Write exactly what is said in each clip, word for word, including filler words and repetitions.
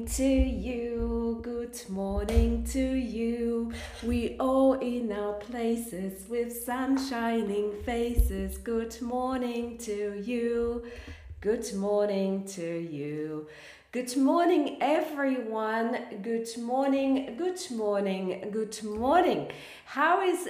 to you, good morning to you. We all in our places with sun shining faces. Good morning to you, good morning to you. Good morning, everyone. Good morning, good morning, good morning. How is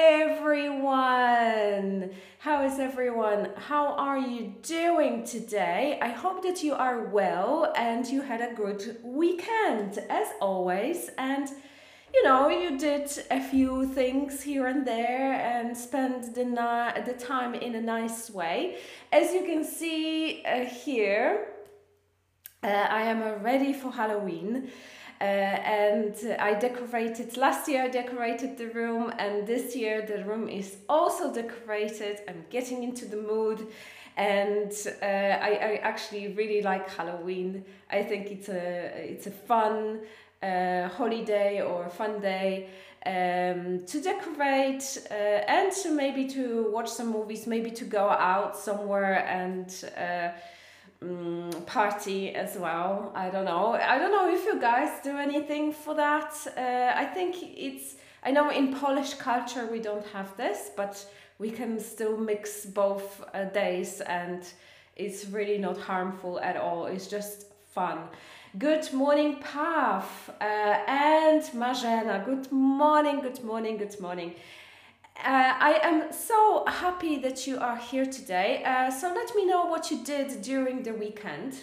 everyone? How is everyone? How are you doing today? I hope that you are well and you had a good weekend, as always. And you know, you did a few things here and there and spent the, ni- the time in a nice way. As you can see uh, here, Uh, I am uh, ready for Halloween uh, and I decorated, last year I decorated the room and this year the room is also decorated. I'm getting into the mood and uh, I, I actually really like Halloween. I think it's a, it's a fun uh, holiday or fun day um, to decorate uh, and to maybe to watch some movies, maybe to go out somewhere and uh, Mm, party as well. I don't know. I don't know if you guys do anything for that. Uh, I think it's, I know in Polish culture we don't have this, but we can still mix both uh, days and it's really not harmful at all. It's just fun. Good morning, Pav uh, and Marzena. Good morning, good morning, good morning. Uh, I am so happy that you are here today. Uh, so let me know what you did during the weekend.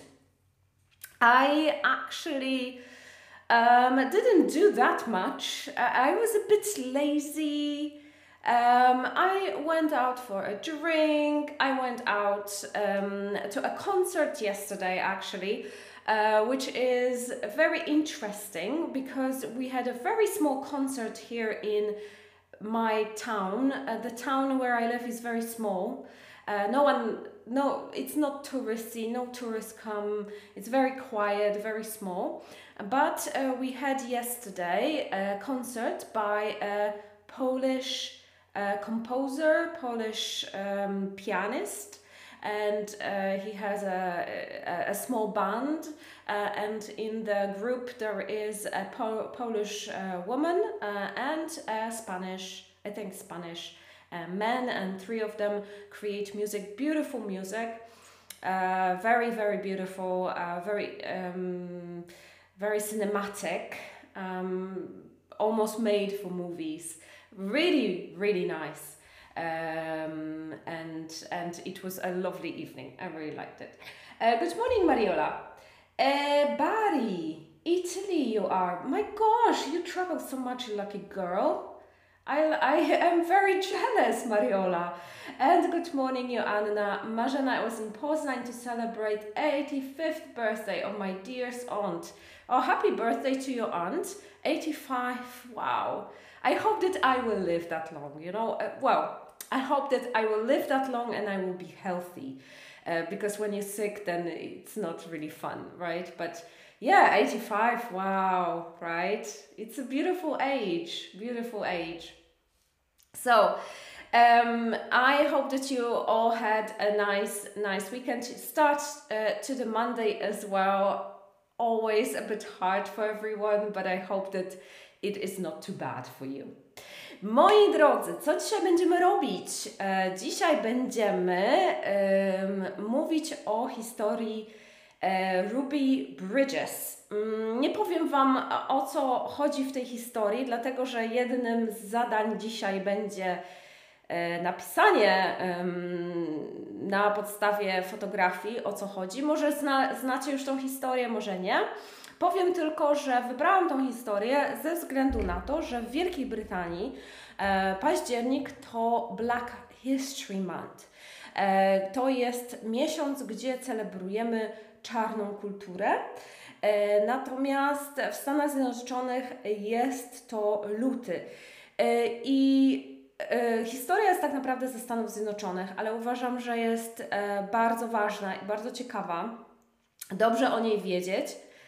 I actually um, didn't do that much. Uh, I was a bit lazy. Um, I went out for a drink. I went out um, to a concert yesterday, actually. Uh, which is very interesting because we had a very small concert here in my town. Uh, the town where I live is very small. Uh, no one, no, it's not touristy, no tourists come. It's very quiet, very small. But uh, we had yesterday a concert by a Polish uh, composer, Polish um, pianist, and uh, he has a, a, a small band uh, and in the group there is a Pol Polish uh, woman uh, and a Spanish, I think Spanish uh, man, and three of them create music, beautiful music, uh, very very beautiful, uh, very um, very cinematic, um, almost made for movies, really really nice. Um, and and it was a lovely evening. I really liked it. Uh, good morning, Mariola. Uh, Bari, Italy you are. My gosh, you travel so much, lucky girl. I, I am very jealous, Mariola. And good morning, Joanna. Marzena, I was in Poznań to celebrate eighty-fifth birthday of my dearest aunt. Oh, happy birthday to your aunt. eighty-five, wow. I hope that I will live that long, you know. Uh, well, I hope that I will live that long and I will be healthy. Uh, because when you're sick, then it's not really fun, right? But yeah, eighty-five, wow, right? It's a beautiful age, beautiful age. So, um, I hope that you all had a nice, nice weekend. Start uh, to the Monday as well. Always a bit hard for everyone, but I hope that it is not too bad for you. Moi drodzy, co dzisiaj będziemy robić? E, dzisiaj będziemy um, mówić o historii e, Ruby Bridges. Um, nie powiem Wam, o co chodzi w tej historii, dlatego że jednym z zadań dzisiaj będzie e, napisanie um, na podstawie fotografii, o co chodzi. Może zna, znacie już tą historię, może nie. Powiem tylko, że wybrałam tą historię ze względu na to, że w Wielkiej Brytanii e, październik to Black History Month. E, to jest miesiąc, gdzie celebrujemy czarną kulturę. E, natomiast w Stanach Zjednoczonych jest to luty. E, I e, historia jest tak naprawdę ze Stanów Zjednoczonych, ale uważam, że jest e, bardzo ważna i bardzo ciekawa. Dobrze o niej wiedzieć.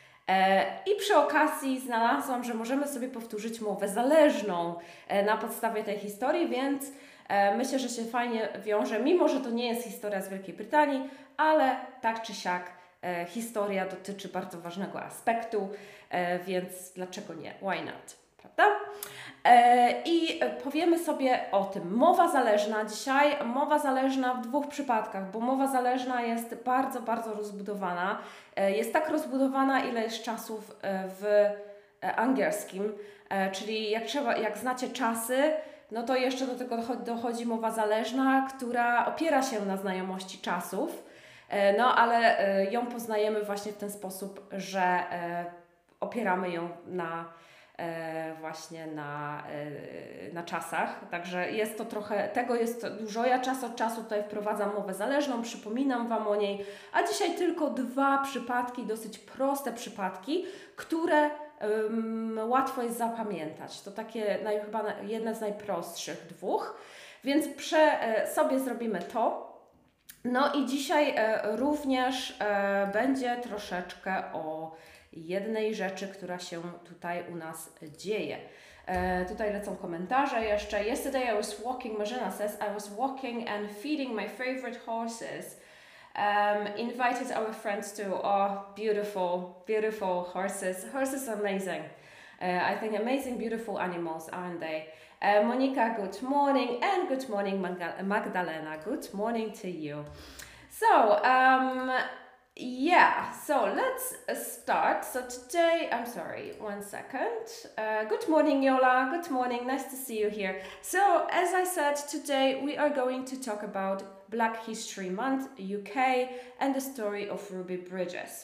I przy okazji znalazłam, że możemy sobie powtórzyć mowę zależną na podstawie tej historii, więc myślę, że się fajnie wiąże, mimo że to nie jest historia z Wielkiej Brytanii, ale tak czy siak e, historia dotyczy bardzo ważnego aspektu, e, więc dlaczego nie? Why not? Prawda? E, I powiemy sobie o tym. Mowa zależna dzisiaj, mowa zależna w dwóch przypadkach, bo mowa zależna jest bardzo, bardzo rozbudowana. E, jest tak rozbudowana, ile jest czasów e, w e, angielskim, e, czyli jak, trzeba, jak znacie czasy, no to jeszcze do tego dochodzi mowa zależna, która opiera się na znajomości czasów, e, no ale e, ją poznajemy właśnie w ten sposób, że e, opieramy ją na E, właśnie na, e, na czasach, także jest to trochę, tego jest dużo. Ja czas od czasu tutaj wprowadzam mowę zależną, przypominam Wam o niej, a dzisiaj tylko dwa przypadki, dosyć proste przypadki, które um, łatwo jest zapamiętać. To takie naj, chyba jedne z najprostszych dwóch, więc prze, e, sobie zrobimy to. No i dzisiaj e, również e, będzie troszeczkę o jednej rzeczy, która się tutaj u nas dzieje. E, tutaj lecą komentarze jeszcze. Yesterday I was walking, Marzena says, I was walking and feeding my favorite horses. Um, invited our friends to, oh, beautiful, beautiful horses. Horses are amazing. Uh, I think amazing, beautiful animals, aren't they? Uh, Monica, good morning, and good morning, Magda Magdalena. Good morning to you. So, um, yeah, so let's start. So today, I'm sorry, one second. Uh, good morning, Yola. Good morning. Nice to see you here. So, as I said, today we are going to talk about Black History Month, U K, and the story of Ruby Bridges.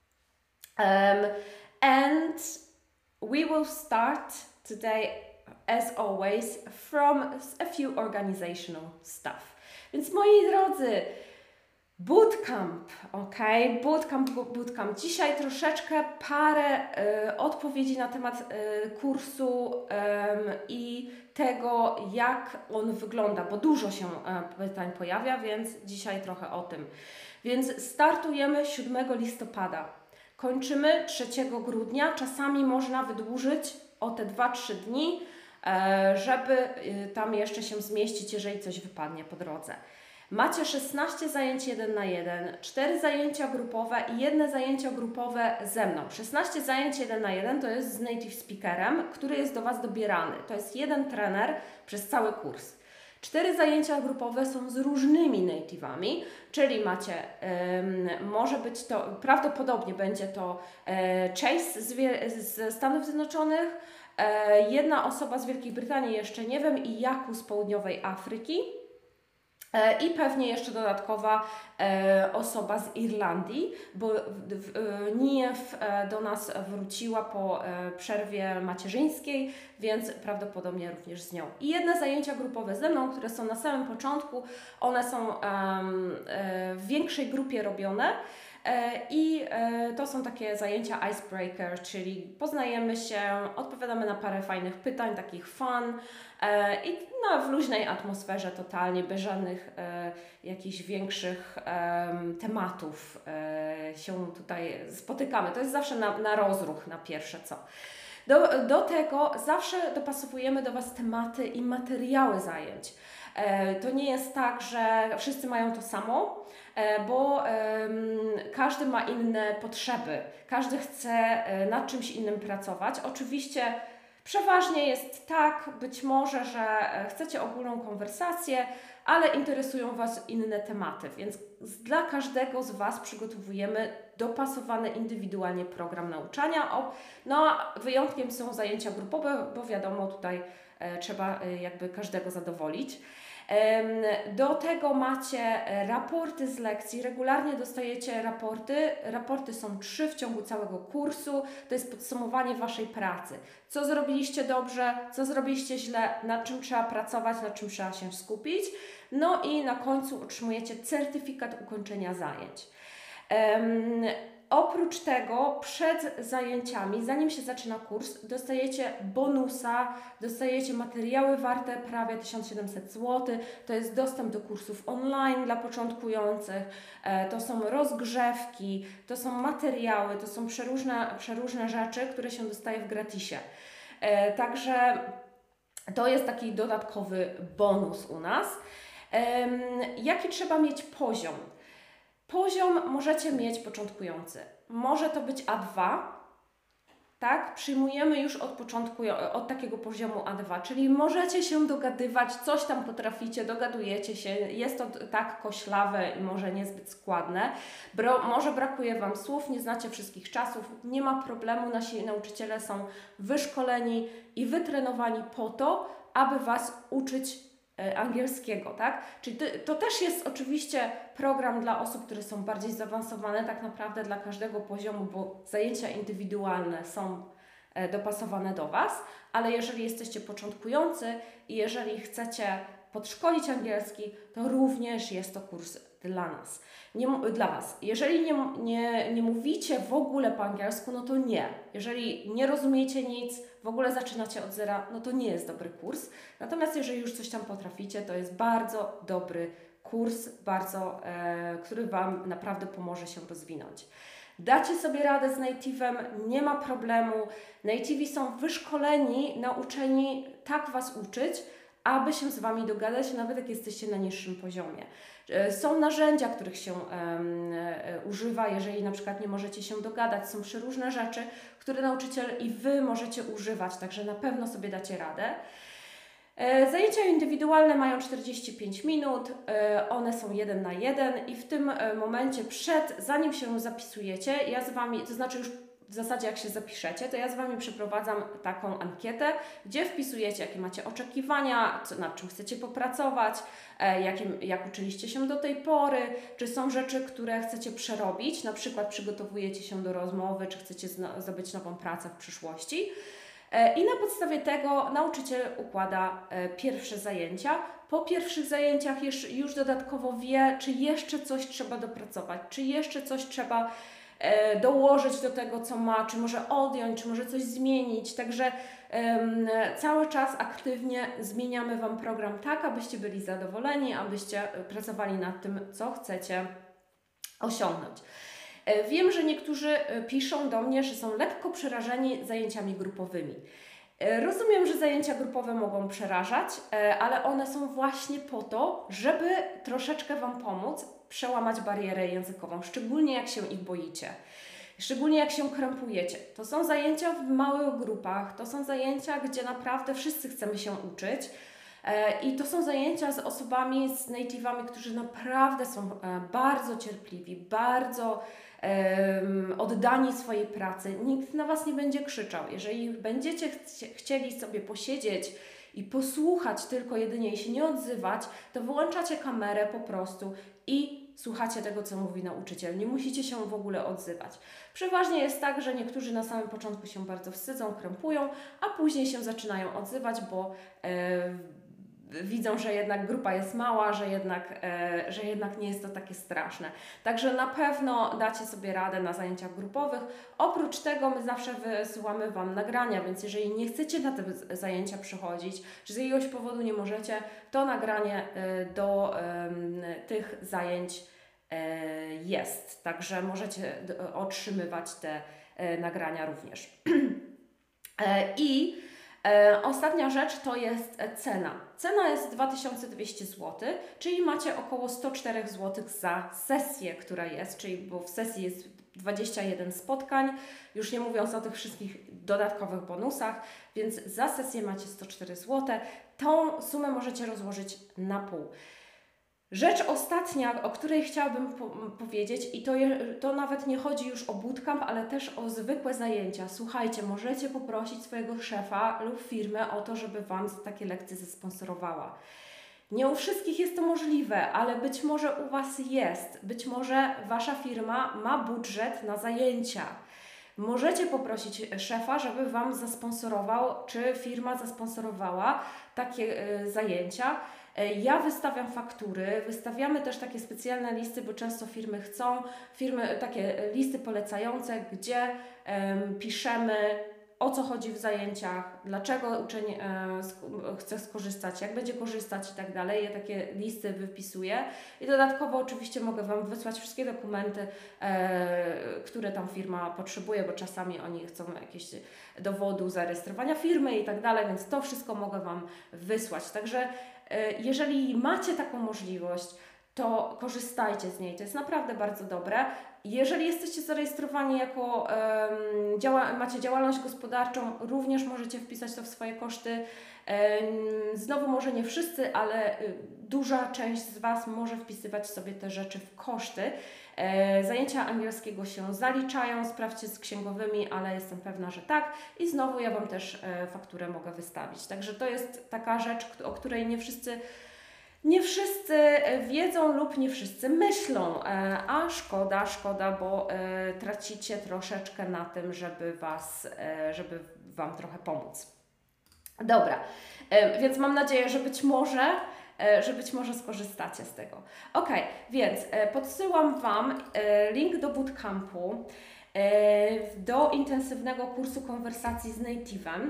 Um, and we will start today, as always, from a few organizational stuff. Więc moi drodzy, bootcamp, ok? Bootcamp, bootcamp. Dzisiaj troszeczkę parę y, odpowiedzi na temat y, kursu y, i tego, jak on wygląda, bo dużo się y, pytań pojawia, więc dzisiaj trochę o tym. Więc startujemy siódmego listopada. Kończymy trzeciego grudnia. Czasami można wydłużyć o te dwa trzy dni, y, żeby y, tam jeszcze się zmieścić, jeżeli coś wypadnie po drodze. Macie szesnaście zajęć jeden na jeden, cztery zajęcia grupowe i jedne zajęcia grupowe ze mną. szesnaście zajęć jeden na jeden to jest z native speakerem, który jest do Was dobierany. To jest jeden trener przez cały kurs. cztery zajęcia grupowe są z różnymi native'ami, czyli macie, um, może być to, prawdopodobnie będzie to e, Chase z, z Stanów Zjednoczonych, e, jedna osoba z Wielkiej Brytanii, jeszcze nie wiem, i Jaku z Południowej Afryki. I pewnie jeszcze dodatkowa e, osoba z Irlandii, bo Nijew e, do nas wróciła po e, przerwie macierzyńskiej, więc prawdopodobnie również z nią. I jedne zajęcia grupowe ze mną, które są na samym początku, one są e, e, w większej grupie robione. I to są takie zajęcia icebreaker, czyli poznajemy się, odpowiadamy na parę fajnych pytań, takich fun i no, w luźnej atmosferze totalnie, bez żadnych jakichś większych tematów się tutaj spotykamy. To jest zawsze na, na rozruch, na pierwsze co. Do, do tego zawsze dopasowujemy do Was tematy i materiały zajęć. To nie jest tak, że wszyscy mają to samo, bo um, każdy ma inne potrzeby, każdy chce nad czymś innym pracować. Oczywiście przeważnie jest tak, być może, że chcecie ogólną konwersację, ale interesują Was inne tematy, więc dla każdego z Was przygotowujemy dopasowany indywidualnie program nauczania. No a wyjątkiem są zajęcia grupowe, bo wiadomo, tutaj e, trzeba e, jakby każdego zadowolić. Do tego macie raporty z lekcji, regularnie dostajecie raporty. Raporty są trzy w ciągu całego kursu. To jest podsumowanie Waszej pracy. Co zrobiliście dobrze, co zrobiliście źle, nad czym trzeba pracować, nad czym trzeba się skupić. No i na końcu otrzymujecie certyfikat ukończenia zajęć. Um, Oprócz tego przed zajęciami, zanim się zaczyna kurs, dostajecie bonusa, dostajecie materiały warte prawie tysiąc siedemset złotych. To jest dostęp do kursów online dla początkujących, to są rozgrzewki, to są materiały, to są przeróżne, przeróżne rzeczy, które się dostaje w gratisie. Także to jest taki dodatkowy bonus u nas. Jaki trzeba mieć poziom? Poziom możecie mieć początkujący. Może to być A dwa, tak? Przyjmujemy już od początku, od takiego poziomu A dwa, czyli możecie się dogadywać, coś tam potraficie, dogadujecie się, jest to tak koślawe i może niezbyt składne, Bro, może brakuje Wam słów, nie znacie wszystkich czasów, nie ma problemu, nasi nauczyciele są wyszkoleni i wytrenowani po to, aby Was uczyć angielskiego, tak? Czyli to, to też jest oczywiście program dla osób, które są bardziej zaawansowane, tak naprawdę dla każdego poziomu, bo zajęcia indywidualne są dopasowane do Was, ale jeżeli jesteście początkujący i jeżeli chcecie podszkolić angielski, to również jest to kurs dla nas, nie, dla Was. Jeżeli nie, nie, nie mówicie w ogóle po angielsku, no to nie. Jeżeli nie rozumiecie nic, w ogóle zaczynacie od zera, no to nie jest dobry kurs. Natomiast jeżeli już coś tam potraficie, to jest bardzo dobry kurs, bardzo, e, który Wam naprawdę pomoże się rozwinąć. Dacie sobie radę z native'em, nie ma problemu. Native'i są wyszkoleni, nauczeni tak Was uczyć, aby się z Wami dogadać, nawet jak jesteście na niższym poziomie. Są narzędzia, których się um, używa, jeżeli na przykład nie możecie się dogadać. Są przeróżne rzeczy, które nauczyciel i Wy możecie używać, także na pewno sobie dacie radę. Zajęcia indywidualne mają czterdzieści pięć minut, one są jeden na jeden i w tym momencie przed, zanim się zapisujecie, ja z Wami, to znaczy już w zasadzie jak się zapiszecie, to ja z Wami przeprowadzam taką ankietę, gdzie wpisujecie, jakie macie oczekiwania, co, nad czym chcecie popracować, e, jakim, jak uczyliście się do tej pory, czy są rzeczy, które chcecie przerobić, na przykład przygotowujecie się do rozmowy, czy chcecie zdobyć nową pracę w przyszłości. E, I na podstawie tego nauczyciel układa e, pierwsze zajęcia. Po pierwszych zajęciach już, już dodatkowo wie, czy jeszcze coś trzeba dopracować, czy jeszcze coś trzeba dołożyć do tego, co ma, czy może odjąć, czy może coś zmienić. Także um, cały czas aktywnie zmieniamy Wam program tak, abyście byli zadowoleni, abyście pracowali nad tym, co chcecie osiągnąć. Wiem, że niektórzy piszą do mnie, że są lekko przerażeni zajęciami grupowymi. Rozumiem, że zajęcia grupowe mogą przerażać, ale one są właśnie po to, żeby troszeczkę Wam pomóc przełamać barierę językową, szczególnie jak się ich boicie, szczególnie jak się krępujecie. To są zajęcia w małych grupach, to są zajęcia, gdzie naprawdę wszyscy chcemy się uczyć i to są zajęcia z osobami, z native'ami, którzy naprawdę są bardzo cierpliwi, bardzo um, oddani swojej pracy. Nikt na Was nie będzie krzyczał. Jeżeli będziecie chci chcieli sobie posiedzieć i posłuchać tylko jedynie i się nie odzywać, to wyłączacie kamerę po prostu i słuchacie tego, co mówi nauczyciel. Nie musicie się w ogóle odzywać. Przeważnie jest tak, że niektórzy na samym początku się bardzo wstydzą, krępują, a później się zaczynają odzywać, bo e, widzą, że jednak grupa jest mała, że jednak, e, że jednak nie jest to takie straszne. Także na pewno dacie sobie radę na zajęciach grupowych. Oprócz tego my zawsze wysyłamy Wam nagrania, więc jeżeli nie chcecie na te zajęcia przychodzić, czy z jakiegoś powodu nie możecie, to nagranie e, do e, tych zajęć e, jest. Także możecie otrzymywać te e, nagrania również. e, I E, ostatnia rzecz to jest cena. Cena jest dwa tysiące dwieście złotych, czyli macie około sto cztery złote za sesję, która jest, czyli bo w sesji jest dwadzieścia jeden spotkań, już nie mówiąc o tych wszystkich dodatkowych bonusach, więc za sesję macie sto cztery złote. Tą sumę możecie rozłożyć na pół. Rzecz ostatnia, o której chciałabym po powiedzieć i to, je, to nawet nie chodzi już o bootcamp, ale też o zwykłe zajęcia. Słuchajcie, możecie poprosić swojego szefa lub firmę o to, żeby Wam takie lekcje zasponsorowała. Nie u wszystkich jest to możliwe, ale być może u Was jest. Być może Wasza firma ma budżet na zajęcia. Możecie poprosić szefa, żeby Wam zasponsorował, czy firma zasponsorowała takie y, zajęcia. Ja wystawiam faktury, wystawiamy też takie specjalne listy, bo często firmy chcą, firmy takie listy polecające, gdzie um, piszemy, o co chodzi w zajęciach, dlaczego uczeń e, sk chce skorzystać, jak będzie korzystać i tak dalej. Ja takie listy wypisuję i dodatkowo oczywiście mogę Wam wysłać wszystkie dokumenty, e, które tam firma potrzebuje, bo czasami oni chcą jakieś dowodu zarejestrowania firmy i tak dalej, więc to wszystko mogę Wam wysłać. Także e, jeżeli macie taką możliwość, to korzystajcie z niej. To jest naprawdę bardzo dobre. Jeżeli jesteście zarejestrowani jako, um, działa, macie działalność gospodarczą, również możecie wpisać to w swoje koszty. Um, znowu może nie wszyscy, ale y, duża część z Was może wpisywać sobie te rzeczy w koszty. E, zajęcia angielskiego się zaliczają, sprawdźcie z księgowymi, ale jestem pewna, że tak. I znowu ja Wam też e, fakturę mogę wystawić. Także to jest taka rzecz, o której nie wszyscy Nie wszyscy wiedzą lub nie wszyscy myślą, a szkoda, szkoda, bo tracicie troszeczkę na tym, żeby was, żeby Wam trochę pomóc. Dobra, więc mam nadzieję, że być może, że być może skorzystacie z tego. Ok, więc podsyłam Wam link do bootcampu, do intensywnego kursu konwersacji z native'em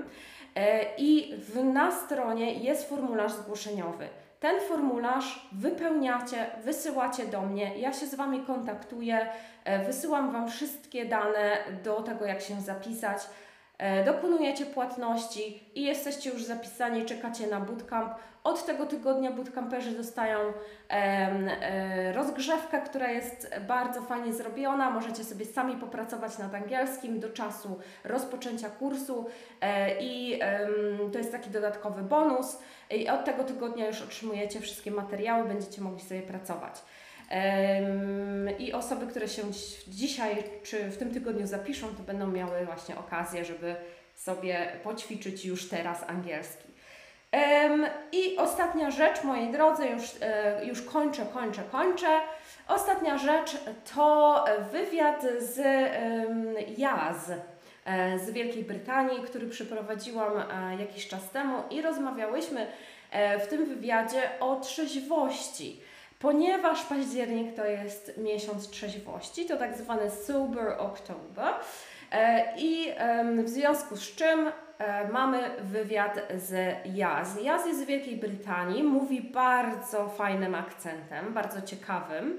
i w, na stronie jest formularz zgłoszeniowy. Ten formularz wypełniacie, wysyłacie do mnie, ja się z Wami kontaktuję, wysyłam Wam wszystkie dane do tego, jak się zapisać, dokonujecie płatności i jesteście już zapisani, czekacie na bootcamp. Od tego tygodnia bootcamperzy dostają e, e, rozgrzewkę, która jest bardzo fajnie zrobiona. Możecie sobie sami popracować nad angielskim do czasu rozpoczęcia kursu e, i e, to jest taki dodatkowy bonus. I od tego tygodnia już otrzymujecie wszystkie materiały, będziecie mogli sobie pracować. Um, I osoby, które się dzisiaj czy w tym tygodniu zapiszą, to będą miały właśnie okazję, żeby sobie poćwiczyć już teraz angielski. Um, I ostatnia rzecz, moi drodzy, już, e, już kończę, kończę, kończę. Ostatnia rzecz to wywiad z um, Jaz e, z Wielkiej Brytanii, który przeprowadziłam e, jakiś czas temu i rozmawiałyśmy e, w tym wywiadzie o trzeźwości. Ponieważ październik to jest miesiąc trzeźwości, to tak zwany Sober October i w związku z czym mamy wywiad z Jaz. Jaz jest z Wielkiej Brytanii, mówi bardzo fajnym akcentem, bardzo ciekawym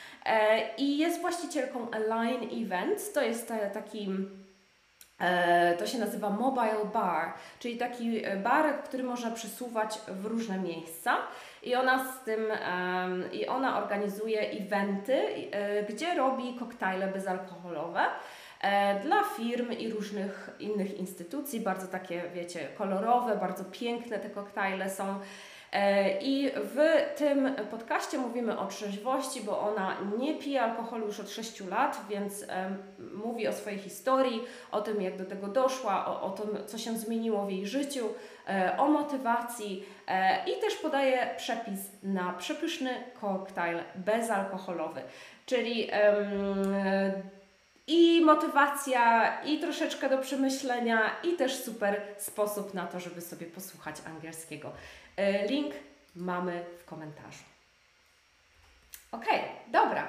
i jest właścicielką Align Events, to jest taki... To się nazywa Mobile Bar, czyli taki bar, który można przesuwać w różne miejsca i ona z tym um, i ona organizuje eventy, y, gdzie robi koktajle bezalkoholowe e, dla firm i różnych innych instytucji, bardzo takie, wiecie, kolorowe, bardzo piękne te koktajle są. I w tym podcaście mówimy o trzeźwości, bo ona nie pije alkoholu już od sześciu lat, więc um, mówi o swojej historii, o tym, jak do tego doszła, o, o tym, co się zmieniło w jej życiu, e, o motywacji e, i też podaje przepis na przepyszny koktajl bezalkoholowy, czyli um, i motywacja, i troszeczkę do przemyślenia, i też super sposób na to, żeby sobie posłuchać angielskiego. Link mamy w komentarzu. Ok, dobra.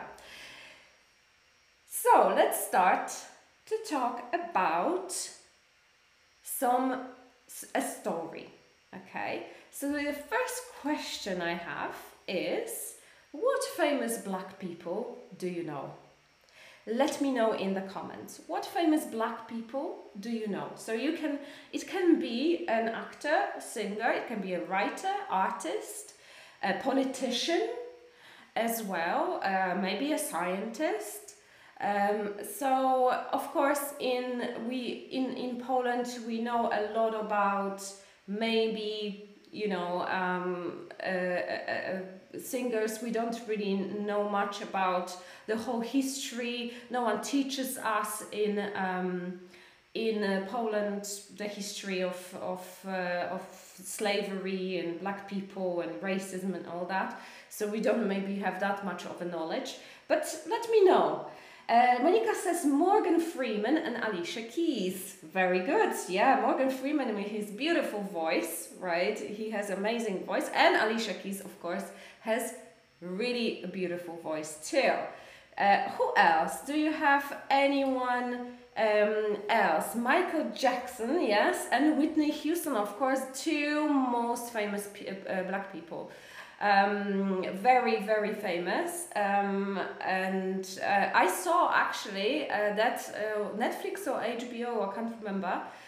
So, let's start to talk about some, a story. Okay, so the first question I have is, what famous black people do you know? Let me know in the comments. What famous black people do you know? So you can, it can be an actor, a singer, it can be a writer, artist, a politician as well, uh, maybe a scientist. Um, so of course in we in, in Poland we know a lot about maybe, you know, um, uh, uh, uh, singers. We don't really know much about the whole history. No one teaches us in um, in uh, Poland the history of of uh, of slavery and black people and racism and all that. So we don't maybe have that much of a knowledge. But let me know. Uh, Monica says Morgan Freeman and Alicia Keys. Very good. Yeah, Morgan Freeman with his beautiful voice, right? He has amazing voice. And Alicia Keys, of course, has really a beautiful voice too. Uh, who else? Do you have anyone um, else? Michael Jackson, yes, and Whitney Houston, of course, two most famous p uh, black people. Um, very, very famous. Um, and uh, I saw actually uh, that uh, Netflix or H B O, I can't remember,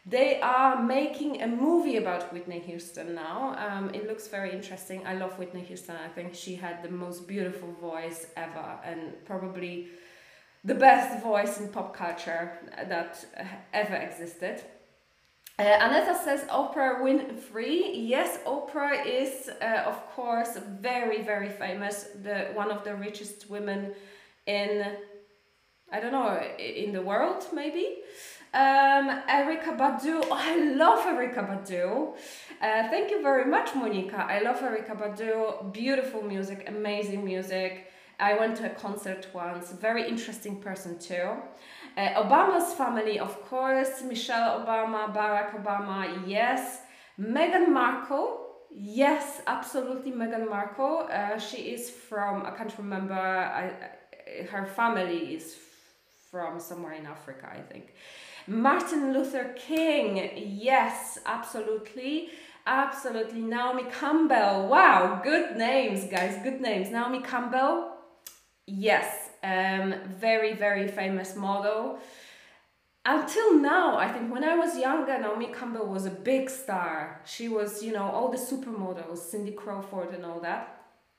They are making a movie about Whitney Houston now. Um, it looks very interesting. I love Whitney Houston. I think she had the most beautiful voice ever, and probably the best voice in pop culture that ever existed. Uh, Aneta says Oprah Winfrey. Yes, Oprah is, uh, of course, very, very famous. The one of the richest women in, I don't know, in the world, maybe. Um, Erykah Badu. Oh, I love Erykah Badu. Uh, thank you very much, Monica. I love Erykah Badu. Beautiful music, amazing music. I went to a concert once. Very interesting person too. Uh, Obama's family, of course. Michelle Obama, Barack Obama, yes. Meghan Markle, yes, absolutely Meghan Markle. Uh, she is from, I can't remember, I, I, her family is from somewhere in Africa, I think. Martin Luther King, yes, absolutely. Absolutely. Naomi Campbell, wow, good names, guys, good names. Naomi Campbell, yes, um, very, very famous model. Until now, I think when I was younger, Naomi Campbell was a big star. She was, you know, all the supermodels, Cindy Crawford and all that.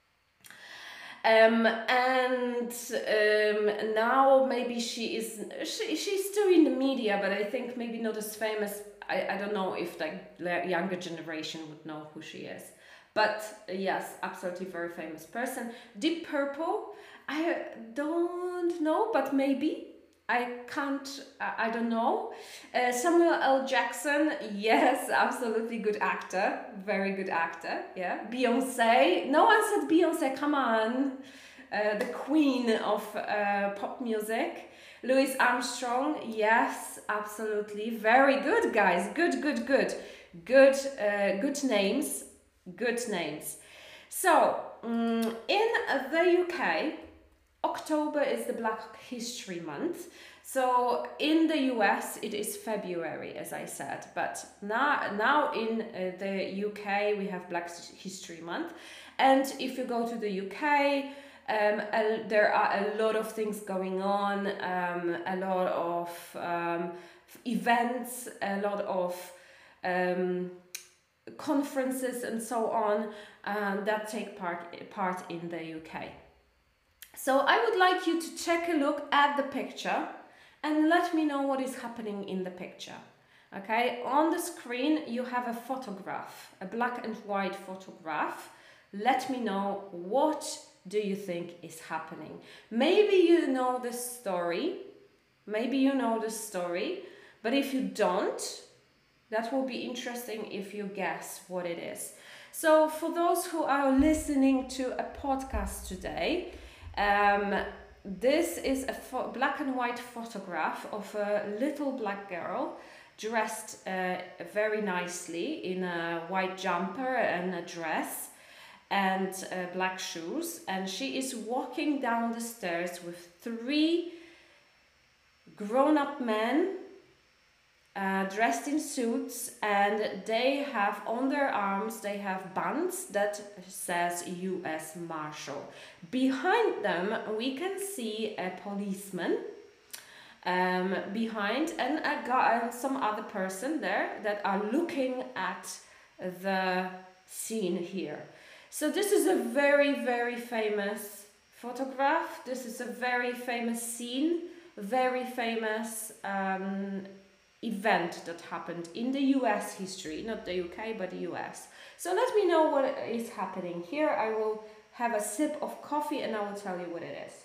Um, and um, now maybe she is, she, she's still in the media, but I think maybe not as famous. I, I don't know if the younger generation would know who she is. But uh, yes, absolutely very famous person. Deep Purple, I don't know, but maybe. I can't, I don't know. Uh, Samuel L. Jackson, yes, absolutely good actor. Very good actor, yeah. Beyonce, no one said Beyonce, come on. Uh, the queen of uh, pop music. Louis Armstrong, yes, absolutely. Very good, guys. Good, good, good. Good, uh, good names. Good names. So, um, in the U K, October is the Black History Month. So in the U S it is February, as I said, but now, now in uh, the U K we have Black History Month. And if you go to the U K, um, a, there are a lot of things going on, um, a lot of um, events, a lot of um, conferences and so on um, that take part, part in the U K. So I would like you to take a look at the picture and let me know what is happening in the picture. Okay, on the screen you have a photograph, a black and white photograph. Let me know, what do you think is happening? Maybe you know the story, maybe you know the story, but if you don't, that will be interesting if you guess what it is. So for those who are listening to a podcast today, Um, this is a black and white photograph of a little black girl dressed uh, very nicely in a white jumper and a dress and uh, black shoes, and she is walking down the stairs with three grown-up men Uh, dressed in suits, and they have on their arms, they have bands that says U S Marshal. Behind them we can see a policeman um, behind, and a guy and some other person there that are looking at the scene here. So this is a very, very famous photograph. This is a very famous scene, very famous um, event that happened in the U S history, not the U K, but the U S. So let me know what is happening here. I will have a sip of coffee and I will tell you what it is.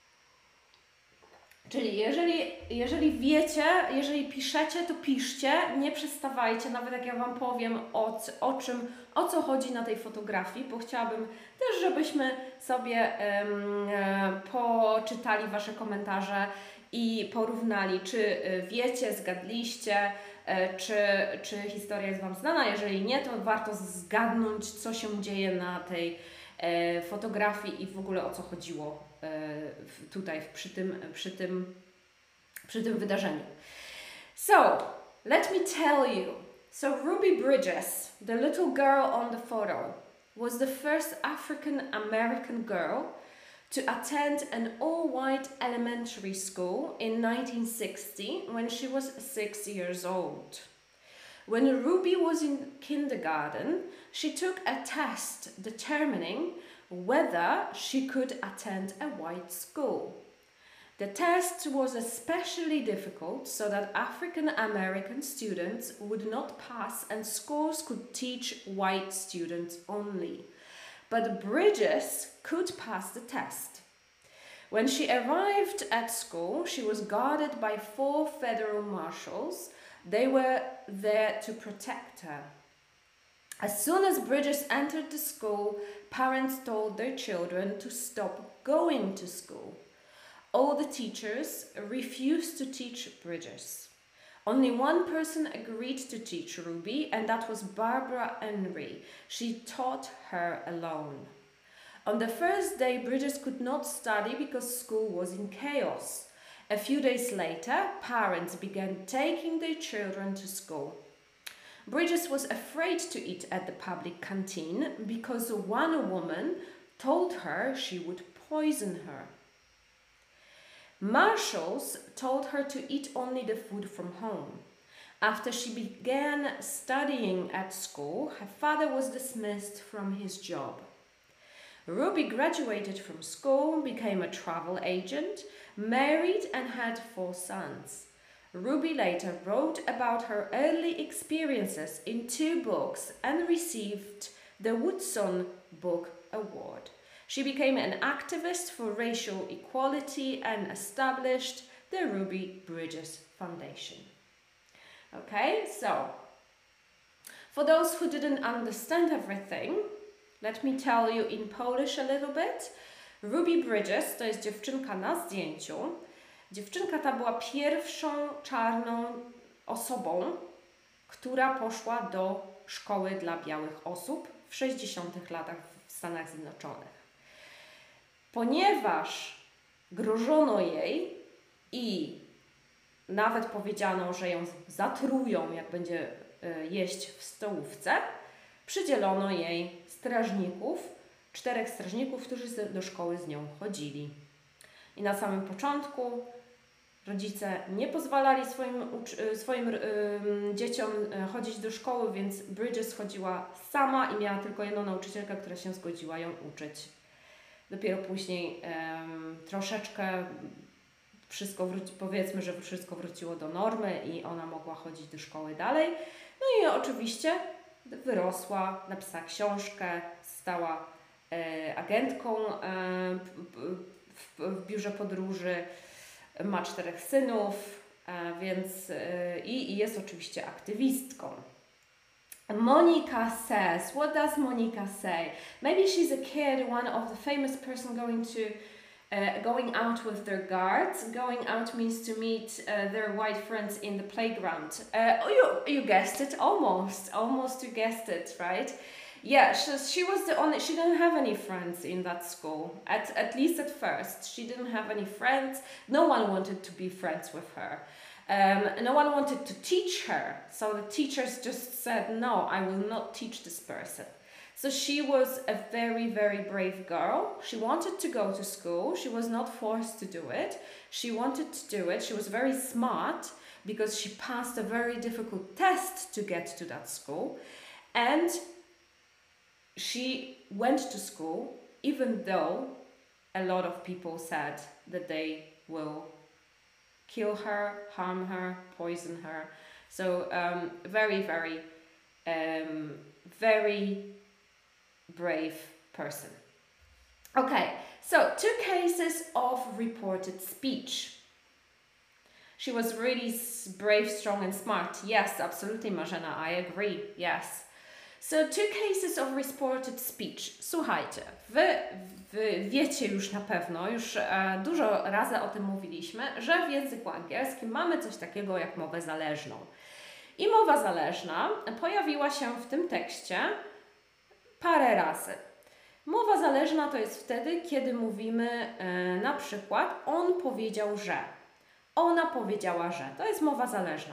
Czyli jeżeli, jeżeli wiecie, jeżeli piszecie, to piszcie, nie przestawajcie, nawet jak ja Wam powiem o, o czym, o co chodzi na tej fotografii, bo chciałabym też, żebyśmy sobie um, poczytali Wasze komentarze i porównali, czy wiecie, zgadliście, czy, czy historia jest Wam znana. Jeżeli nie, to warto zgadnąć, co się dzieje na tej e, fotografii i w ogóle o co chodziło e, tutaj przy tym, przy, tym, przy tym wydarzeniu. So, let me tell you. So Ruby Bridges, the little girl on the photo, was the first African American girl to attend an all-white elementary school in nineteen sixty when she was six years old. When Ruby was in kindergarten, she took a test determining whether she could attend a white school. The test was especially difficult so that African American students would not pass and schools could teach white students only. But Bridges could pass the test. When she arrived at school, she was guarded by four federal marshals. They were there to protect her. As soon as Bridges entered the school, parents told their children to stop going to school. All the teachers refused to teach Bridges. Only one person agreed to teach Ruby, and that was Barbara Henry. She taught her alone. On the first day, Bridges could not study because school was in chaos. A few days later, parents began taking their children to school. Bridges was afraid to eat at the public canteen because one woman told her she would poison her. Marshals told her to eat only the food from home. After she began studying at school, her father was dismissed from his job. Ruby graduated from school, became a travel agent, married and had four sons. Ruby later wrote about her early experiences in two books and received the Woodson Book Award. She became an activist for racial equality and established the Ruby Bridges Foundation. Okay, so for those who didn't understand everything, let me tell you in Polish a little bit. Ruby Bridges to jest dziewczynka na zdjęciu. Dziewczynka ta była pierwszą czarną osobą, która poszła do szkoły dla białych osób w sześćdziesiątych latach w Stanach Zjednoczonych. Ponieważ grożono jej i nawet powiedziano, że ją zatrują, jak będzie jeść w stołówce, przydzielono jej strażników, czterech strażników, którzy do szkoły z nią chodzili. I na samym początku rodzice nie pozwalali swoim, swoim yy, dzieciom chodzić do szkoły, więc Bridges chodziła sama i miała tylko jedną nauczycielkę, która się zgodziła ją uczyć. Dopiero później yy, troszeczkę wszystko wróci, powiedzmy, że wszystko wróciło do normy i ona mogła chodzić do szkoły dalej. No i oczywiście wyrosła, napisała książkę, stała e, agentką e, w, w biurze podróży, ma czterech synów, e, więc e, i, i jest oczywiście aktywistką. Monica says, what does Monica say? Maybe she's a kid, one of the famous person going to Uh, going out with their guards. Going out means to meet uh, their white friends in the playground. Uh, oh, you, you guessed it, almost, almost you guessed it, right? Yeah, she, she was the only, she didn't have any friends in that school, at, at least at first. She didn't have any friends, no one wanted to be friends with her. Um, no one wanted to teach her, so the teachers just said, no, I will not teach this person. So she was a very, very brave girl. She wanted to go to school. She was not forced to do it. She wanted to do it. She was very smart because she passed a very difficult test to get to that school. And she went to school even though a lot of people said that they will kill her, harm her, poison her. So um, very, very, um, very brave person. Okay, so two cases of reported speech. She was really brave, strong and smart. Yes, absolutely, Marzena, I agree, yes. So two cases of reported speech. Słuchajcie, wy, wy wiecie już na pewno, już e, dużo razy o tym mówiliśmy, że w języku angielskim mamy coś takiego jak mowę zależną. I mowa zależna pojawiła się w tym tekście parę razy. Mowa zależna to jest wtedy, kiedy mówimy e, na przykład on powiedział, że. Ona powiedziała, że. To jest mowa zależna.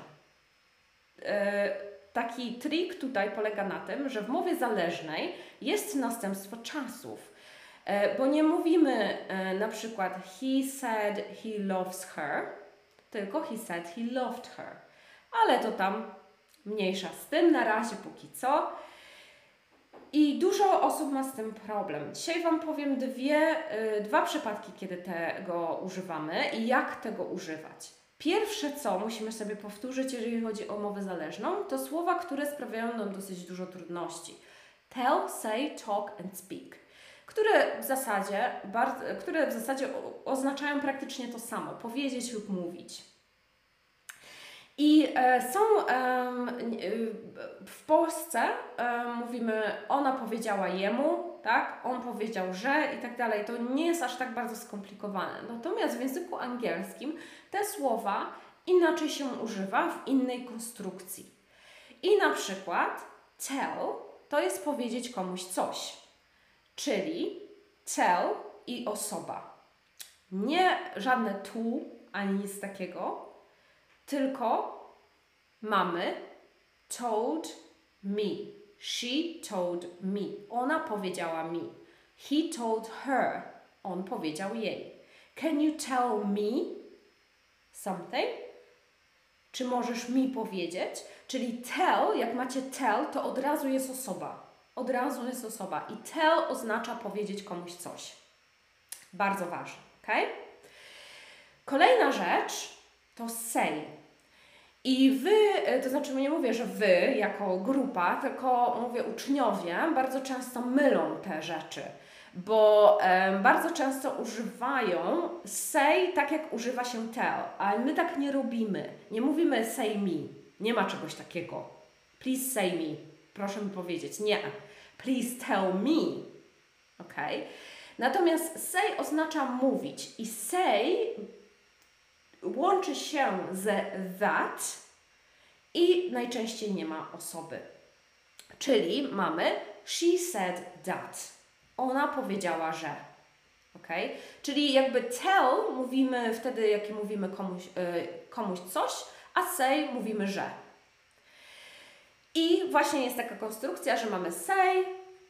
E, taki trik tutaj polega na tym, że w mowie zależnej jest następstwo czasów. E, bo nie mówimy e, na przykład he said he loves her, tylko he said he loved her. Ale to tam Mniejsza z tym, na razie póki co. I dużo osób ma z tym problem. Dzisiaj Wam powiem dwie, y, dwa przypadki, kiedy tego używamy i jak tego używać. Pierwsze, co musimy sobie powtórzyć, jeżeli chodzi o mowę zależną, to słowa, które sprawiają nam dosyć dużo trudności. Tell, say, talk and speak. Które w zasadzie, bardzo, które w zasadzie oznaczają praktycznie to samo. Powiedzieć lub mówić. I e, są e, w Polsce e, mówimy, ona powiedziała jemu, tak? On powiedział, że i tak dalej. To nie jest aż tak bardzo skomplikowane. Natomiast w języku angielskim te słowa inaczej się używa w innej konstrukcji. I na przykład tell to jest powiedzieć komuś coś. Czyli tell i osoba. Nie żadne tu ani nic takiego, tylko mamy told me. She told me. Ona powiedziała mi. He told her. On powiedział jej. Can you tell me something? Czy możesz mi powiedzieć? Czyli tell, jak macie tell, to od razu jest osoba. Od razu jest osoba. I tell oznacza powiedzieć komuś coś. Bardzo ważne, ok? Kolejna rzecz to say. I wy, to znaczy nie mówię, że wy jako grupa, tylko mówię uczniowie, bardzo często mylą te rzeczy, bo e, bardzo często używają say tak jak używa się tell, ale my tak nie robimy. Nie mówimy say me, nie ma czegoś takiego. Please say me, proszę mi powiedzieć. Nie. Please tell me. Ok? Natomiast say oznacza mówić i say łączy się z that i najczęściej nie ma osoby. Czyli mamy she said that. Ona powiedziała, że. Okay? Czyli jakby tell mówimy wtedy, jak mówimy komuś, yy, komuś coś, a say mówimy, że. I właśnie jest taka konstrukcja, że mamy say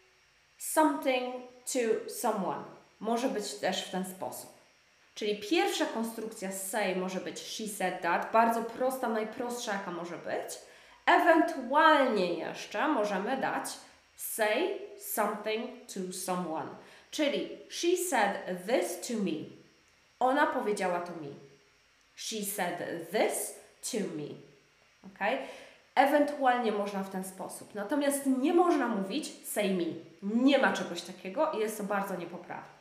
something to someone. Może być też w ten sposób. Czyli pierwsza konstrukcja say może być she said that, bardzo prosta, najprostsza jaka może być. Ewentualnie jeszcze możemy dać say something to someone. Czyli she said this to me. Ona powiedziała to mi. She said this to me. Okay? Ewentualnie można w ten sposób. Natomiast nie można mówić say me. Nie ma czegoś takiego i jest to bardzo niepoprawne.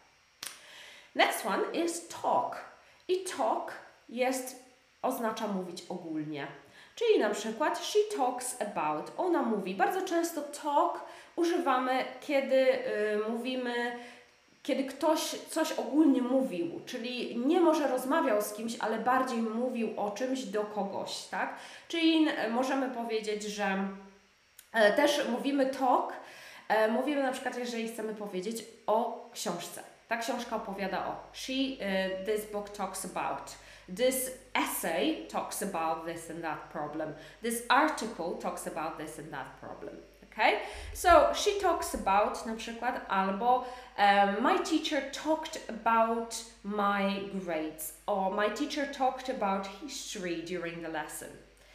Next one is talk. I talk jest, oznacza mówić ogólnie. Czyli na przykład she talks about. Ona mówi. Bardzo często talk używamy, kiedy y, mówimy, kiedy ktoś coś ogólnie mówił. Czyli nie może rozmawiał z kimś, ale bardziej mówił o czymś do kogoś, tak? Czyli y, możemy powiedzieć, że y, też mówimy talk. Y, mówimy na przykład, jeżeli chcemy powiedzieć o książce. Ta książka opowiada o she, uh, this book talks about, this essay talks about this and that problem, this article talks about this and that problem, okay? So, she talks about na przykład albo um, my teacher talked about my grades or my teacher talked about history during the lesson.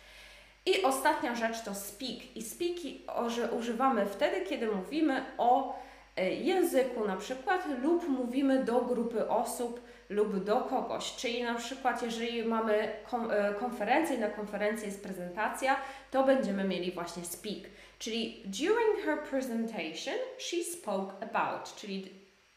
I ostatnia rzecz to speak. I speak używamy wtedy, kiedy mówimy o języku na przykład lub mówimy do grupy osób lub do kogoś. Czyli na przykład jeżeli mamy konferencję, na konferencji jest prezentacja, to będziemy mieli właśnie speak. Czyli during her presentation she spoke about. Czyli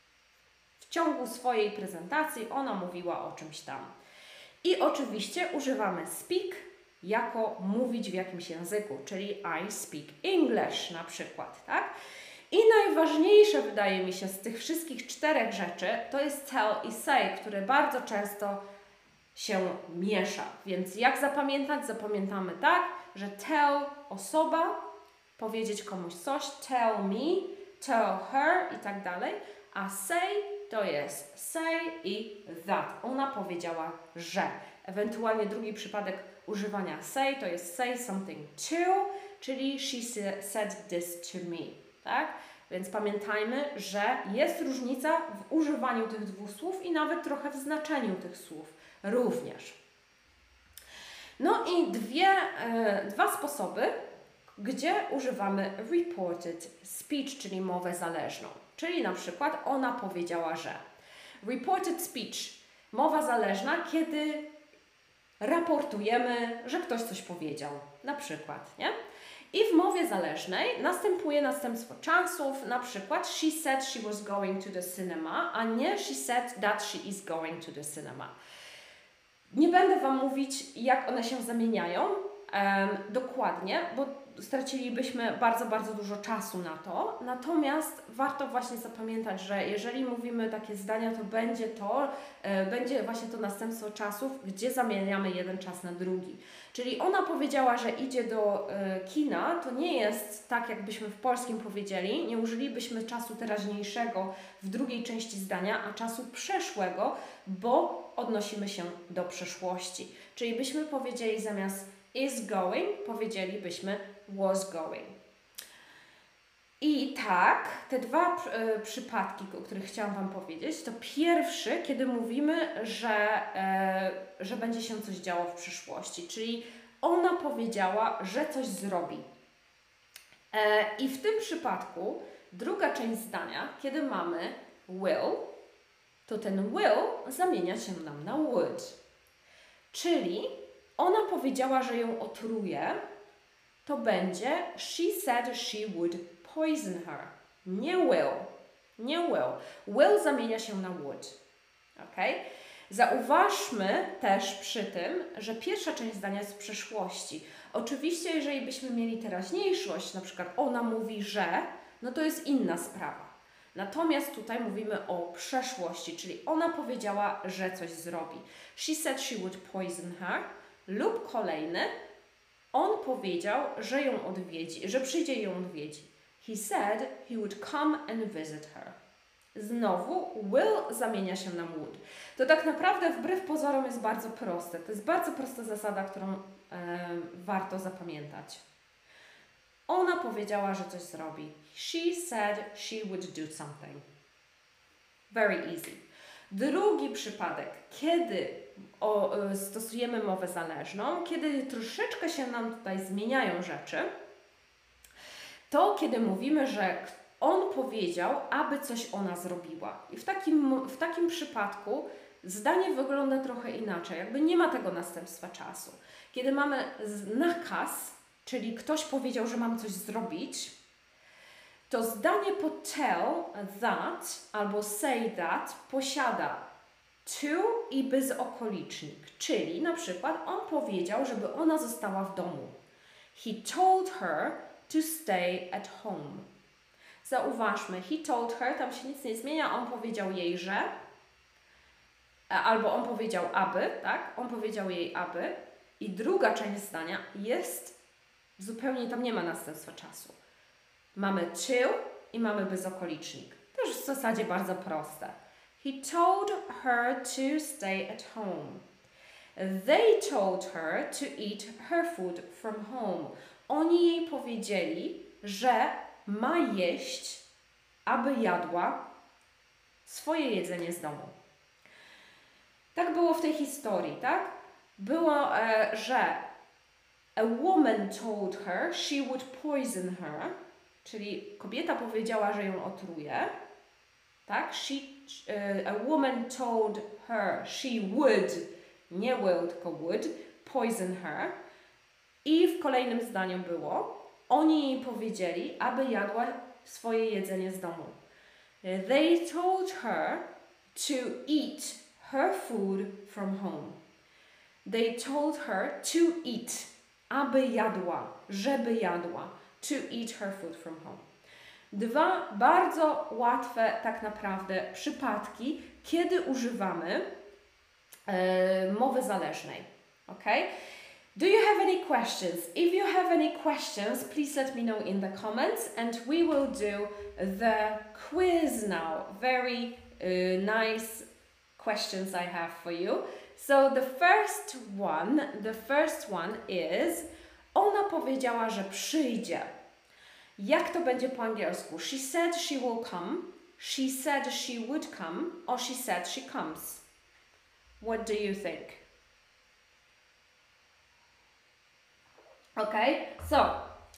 w ciągu swojej prezentacji ona mówiła o czymś tam. I oczywiście używamy speak jako mówić w jakimś języku, czyli I speak English na przykład, tak? I najważniejsze wydaje mi się z tych wszystkich czterech rzeczy to jest tell i say, które bardzo często się miesza. Więc jak zapamiętać? Zapamiętamy tak, że tell osoba, powiedzieć komuś coś, tell me, tell her i tak dalej, a say to jest say i that. Ona powiedziała, że. Ewentualnie drugi przypadek używania say to jest say something to, czyli she said this to me. Tak? Więc pamiętajmy, że jest różnica w używaniu tych dwóch słów i nawet trochę w znaczeniu tych słów również. No i dwie, e, dwa sposoby gdzie używamy reported speech, czyli mowę zależną. Czyli na przykład ona powiedziała, że. Reported speech, mowa zależna, kiedy raportujemy, że ktoś coś powiedział. Na przykład, nie? I w mowie zależnej następuje następstwo czasów, na przykład she said she was going to the cinema, a nie she said that she is going to the cinema. Nie będę Wam mówić, jak one się zamieniają um, dokładnie, bo stracilibyśmy bardzo, bardzo dużo czasu na to. Natomiast warto właśnie zapamiętać, że jeżeli mówimy takie zdania, to będzie to, e, będzie właśnie to następstwo czasów, gdzie zamieniamy jeden czas na drugi. Czyli ona powiedziała, że idzie do e, kina, to nie jest tak, jakbyśmy w polskim powiedzieli, nie użylibyśmy czasu teraźniejszego w drugiej części zdania, a czasu przeszłego, bo odnosimy się do przeszłości. Czyli byśmy powiedzieli zamiast is going, powiedzielibyśmy was going. I tak, te dwa y, przypadki, o których chciałam Wam powiedzieć, to pierwszy, kiedy mówimy, że, y, że będzie się coś działo w przyszłości, czyli ona powiedziała, że coś zrobi. Y, I w tym przypadku druga część zdania, kiedy mamy will, to ten will zamienia się nam na would. Czyli ona powiedziała, że ją otruje, to będzie she said she would poison her. Nie will. Nie will. Will zamienia się na would. Ok? Zauważmy też przy tym, że pierwsza część zdania jest w przeszłości. Oczywiście, jeżeli byśmy mieli teraźniejszość, na przykład ona mówi, że, no to jest inna sprawa. Natomiast tutaj mówimy o przeszłości, czyli ona powiedziała, że coś zrobi. She said she would poison her. Lub kolejny, on powiedział, że ją odwiedzi, że przyjdzie i ją odwiedzi. He said he would come and visit her. Znowu will zamienia się na would. To tak naprawdę wbrew pozorom jest bardzo proste. To jest bardzo prosta zasada, którą e, warto zapamiętać. Ona powiedziała, że coś zrobi. She said she would do something. Very easy. Drugi przypadek, kiedy o, stosujemy mowę zależną, kiedy troszeczkę się nam tutaj zmieniają rzeczy, to kiedy mówimy, że on powiedział, aby coś ona zrobiła. I w takim, w takim przypadku zdanie wygląda trochę inaczej, jakby nie ma tego następstwa czasu. Kiedy mamy nakaz, czyli ktoś powiedział, że mam coś zrobić, to zdanie po tell that albo say that posiada to i bezokolicznik, czyli na przykład on powiedział, żeby ona została w domu. He told her to stay at home. Zauważmy, he told her, tam się nic nie zmienia, on powiedział jej, że, albo on powiedział aby, tak? On powiedział jej aby i druga część zdania jest zupełnie, tam nie ma następstwa czasu. Mamy to i mamy bezokolicznik. Też w zasadzie bardzo proste. He told her to stay at home. They told her to eat her food from home. Oni jej powiedzieli, że ma jeść, aby jadła swoje jedzenie z domu. Tak było w tej historii, tak? Było, e, że a woman told her she would poison her, czyli kobieta powiedziała, że ją otruje, tak? She, uh, a woman told her she would, nie will, tylko would, poison her. I w kolejnym zdaniu było, oni jej powiedzieli, aby jadła swoje jedzenie z domu. They told her to eat her food from home. They told her to eat, aby jadła, żeby jadła. To eat her food from home. Dwa bardzo łatwe tak naprawdę przypadki, kiedy używamy e, mowy zależnej. Okay? Do you have any questions? If you have any questions, please let me know in the comments and we will do the quiz now. Very uh, nice questions I have for you. So the first one, the first one is, ona powiedziała, że przyjdzie. Jak to będzie po angielsku? She said she will come, she said she would come, or she said she comes. What do you think? Okay, so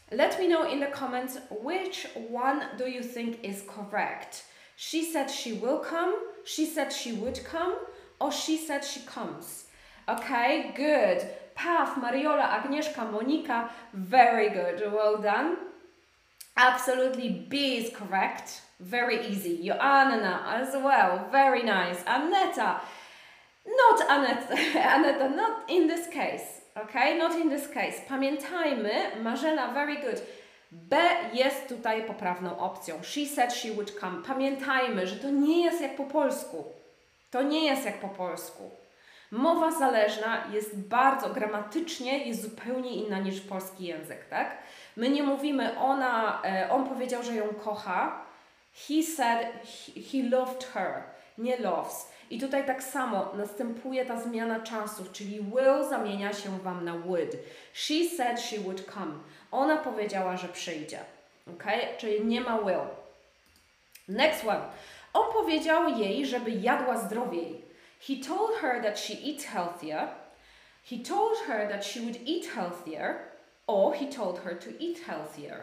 Let me know in the comments which one do you think is correct. She said she will come, she said she would come, or she said she comes. Okay, good. Pav, Mariola, Agnieszka, Monika, very good. Well done. Absolutely, B is correct. Very easy. Joanna as well. Very nice. Aneta. Not Aneta. Aneta, not in this case. Okay, not in this case. Pamiętajmy, Marzena, very good. B jest tutaj poprawną opcją. She said she would come. Pamiętajmy, że to nie jest jak po polsku. To nie jest jak po polsku. Mowa zależna jest bardzo, gramatycznie jest zupełnie inna niż polski język, tak? My nie mówimy, ona, on powiedział, że ją kocha. He said he, he loved her, nie loves. I tutaj tak samo następuje ta zmiana czasów, czyli will zamienia się Wam na would. She said she would come. Ona powiedziała, że przyjdzie. Okay? Czyli nie ma will. Next one. On powiedział jej, żeby jadła zdrowiej. He told her that she eats healthier. He told her that she would eat healthier. Or he told her to eat healthier.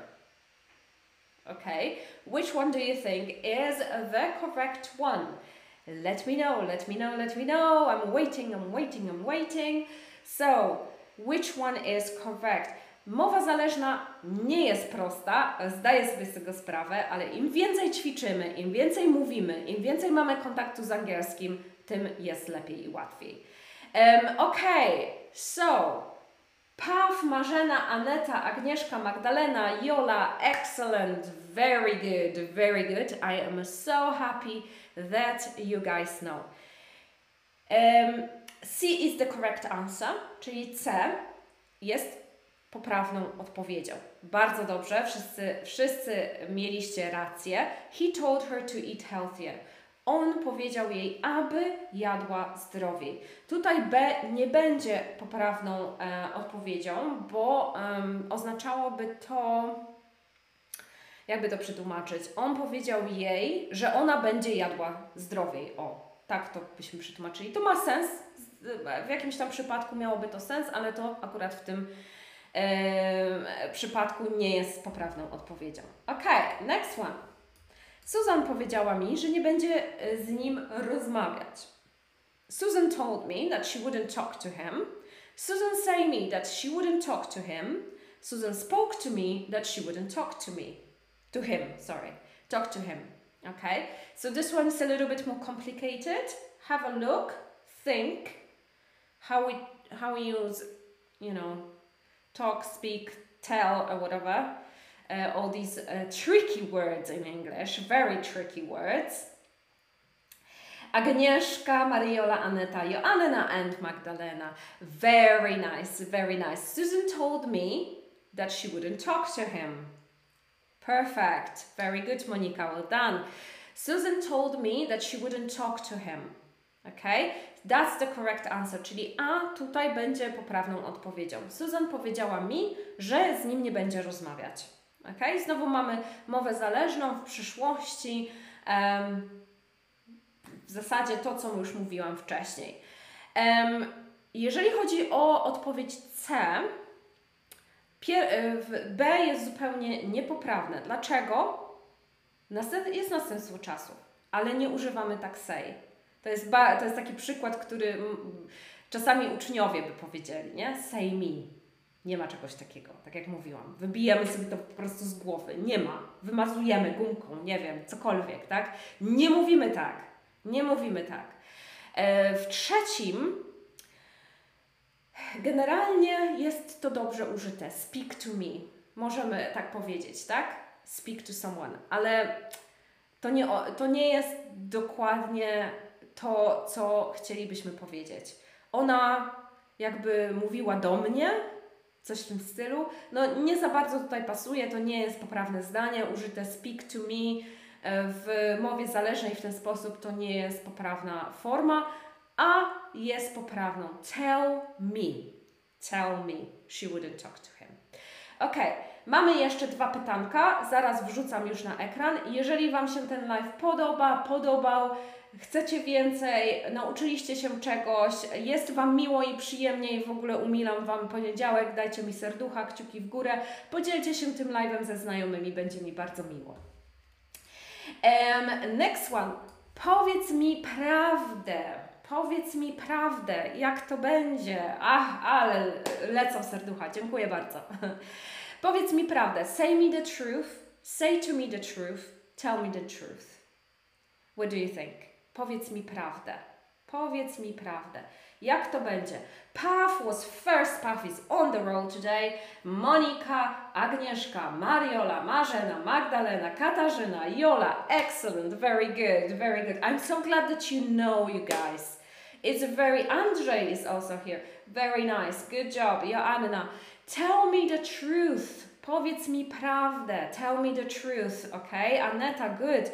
Okay, which one do you think is the correct one? Let me know, let me know, let me know. I'm waiting, I'm waiting, I'm waiting. So, which one is correct? Mowa zależna nie jest prosta, zdaję sobie z tego sprawę, ale im więcej ćwiczymy, im więcej mówimy, im więcej mamy kontaktu z angielskim, tym jest lepiej i łatwiej. Um, okay, so Pav, Marzena, Aneta, Agnieszka, Magdalena, Jola, excellent, very good, very good. I am so happy that you guys know. Um, C is the correct answer, czyli C jest poprawną odpowiedzią. Bardzo dobrze, wszyscy, wszyscy mieliście rację. He told her to eat healthier. On powiedział jej, aby jadła zdrowiej. Tutaj B nie będzie poprawną e, odpowiedzią, bo um, oznaczałoby to, jakby to przetłumaczyć, on powiedział jej, że ona będzie jadła zdrowiej. O, tak to byśmy przetłumaczyli. To ma sens, w jakimś tam przypadku miałoby to sens, ale to akurat w tym e, przypadku nie jest poprawną odpowiedzią. Ok, next one. Susan powiedziała mi, że nie będzie z nim rozmawiać. Susan told me that she wouldn't talk to him. Susan said me that she wouldn't talk to him. Susan spoke to me that she wouldn't talk to me. To him, sorry. Talk to him. Okay? So this one is a little bit more complicated. Have a look. Think. How we, how we use, you know, talk, speak, tell, or whatever. Uh, all these uh, tricky words in English, very tricky words. Agnieszka, Mariola, Aneta, Joanna and Magdalena. Very nice, very nice. Susan told me that she wouldn't talk to him. Perfect. Very good, Monika, well done. Susan told me that she wouldn't talk to him. Okay? That's the correct answer, czyli A tutaj będzie poprawną odpowiedzią. Susan powiedziała mi, że z nim nie będzie rozmawiać. Okay? Znowu mamy mowę zależną w przyszłości. Um, w zasadzie to, co już mówiłam wcześniej. Um, jeżeli chodzi o odpowiedź C, B jest zupełnie niepoprawne. Dlaczego? Jest następstwo czasu, ale nie używamy tak say. To jest, ba to jest taki przykład, który czasami uczniowie by powiedzieli, nie? Say me. Nie ma czegoś takiego, tak jak mówiłam. Wybijamy sobie to po prostu z głowy. Nie ma. Wymazujemy gumką, nie wiem, cokolwiek, tak? Nie mówimy tak. Nie mówimy tak. E, w trzecim generalnie jest to dobrze użyte. Speak to me. Możemy tak powiedzieć, tak? Speak to someone. Ale to nie, to nie jest dokładnie to, co chcielibyśmy powiedzieć. Ona jakby mówiła do mnie, coś w tym stylu. No nie za bardzo tutaj pasuje, to nie jest poprawne zdanie. Użyte speak to me w mowie zależnej w ten sposób to nie jest poprawna forma, a jest poprawną. Tell me. Tell me. She wouldn't talk to him. Ok, mamy jeszcze dwa pytanka, zaraz wrzucam już na ekran. Jeżeli Wam się ten live podoba, podobał, chcecie więcej, nauczyliście się czegoś, jest Wam miło i przyjemnie i w ogóle umilam Wam poniedziałek, dajcie mi serducha, kciuki w górę, podzielcie się tym live'em ze znajomymi, będzie mi bardzo miło. Um, next one. Powiedz mi prawdę. Powiedz mi prawdę. Jak to będzie? Ach, ale lecą serducha. Dziękuję bardzo. Powiedz mi prawdę. Say me the truth. Say to me the truth. Tell me the truth. What do you think? Powiedz mi prawdę. Powiedz mi prawdę. Jak to będzie? Path was first. Path is on the road today. Monika, Agnieszka, Mariola, Marzena, Magdalena, Katarzyna, Jola. Excellent. Very good. Very good. I'm so glad that you know, you guys. It's a very... Andrzej is also here. Very nice. Good job. Joanna. Tell me the truth. Powiedz mi prawdę. Tell me the truth. Okay? Aneta, good.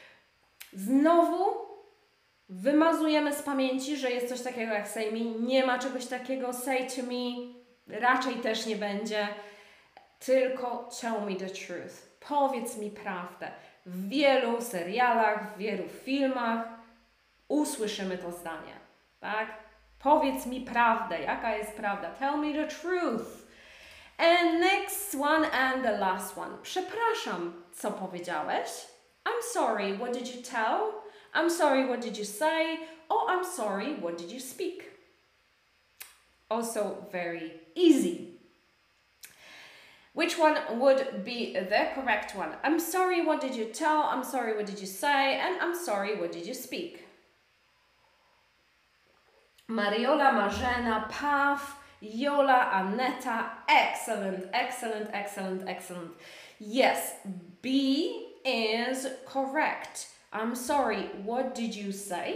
Znowu wymazujemy z pamięci, że jest coś takiego jak say me. Nie ma czegoś takiego. Say to me raczej też nie będzie. Tylko tell me the truth. Powiedz mi prawdę. W wielu serialach, w wielu filmach usłyszymy to zdanie. Tak? Powiedz mi prawdę. Jaka jest prawda? Tell me the truth. And next one and the last one. Przepraszam, co powiedziałeś? I'm sorry, what did you tell? I'm sorry, what did you say? Oh, I'm sorry, what did you speak? Also very easy. Which one would be the correct one? I'm sorry, what did you tell? I'm sorry, what did you say? And I'm sorry, what did you speak? Mariola, Marzena, Paw, Jola, Aneta. Excellent, excellent, excellent, excellent. Yes, B is correct. I'm sorry, what did you say?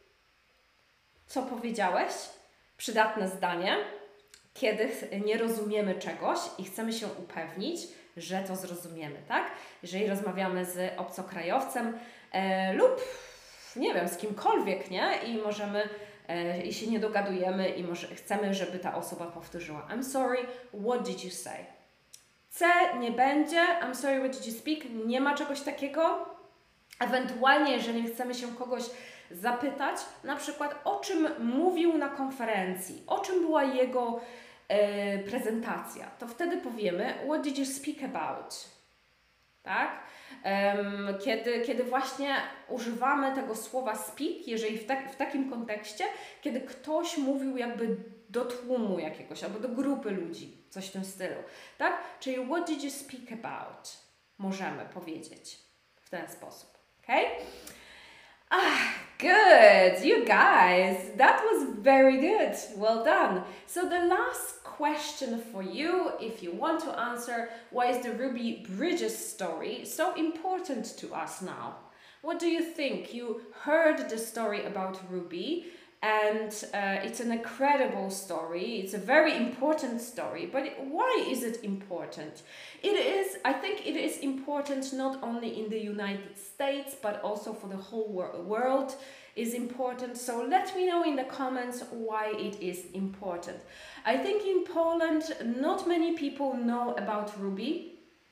Co powiedziałeś? Przydatne zdanie, kiedy nie rozumiemy czegoś i chcemy się upewnić, że to zrozumiemy, tak? Jeżeli rozmawiamy z obcokrajowcem e, lub, nie wiem, z kimkolwiek, nie? I możemy, e, i się nie dogadujemy i może chcemy, żeby ta osoba powtórzyła. I'm sorry, what did you say? C nie będzie. I'm sorry, what did you speak? Nie ma czegoś takiego. Ewentualnie, jeżeli chcemy się kogoś zapytać, na przykład o czym mówił na konferencji, o czym była jego e, prezentacja, to wtedy powiemy what did you speak about? Tak? Um, kiedy, kiedy właśnie używamy tego słowa speak, jeżeli w, tak, w takim kontekście, kiedy ktoś mówił jakby do tłumu jakiegoś, albo do grupy ludzi, coś w tym stylu, tak? Czyli what did you speak about? Możemy powiedzieć w ten sposób, okay? Ah, good, you guys, that was very good, well done. So the last question for you, if you want to answer, why is the Ruby Bridges story so important to us now? What do you think? You heard the story about Ruby, and uh, it's an incredible story. It's a very important story, but it, why is it important? It is, I think it is important not only in the United States, but also for the whole wor world is important. So let me know in the comments why it is important. I think in Poland, not many people know about Ruby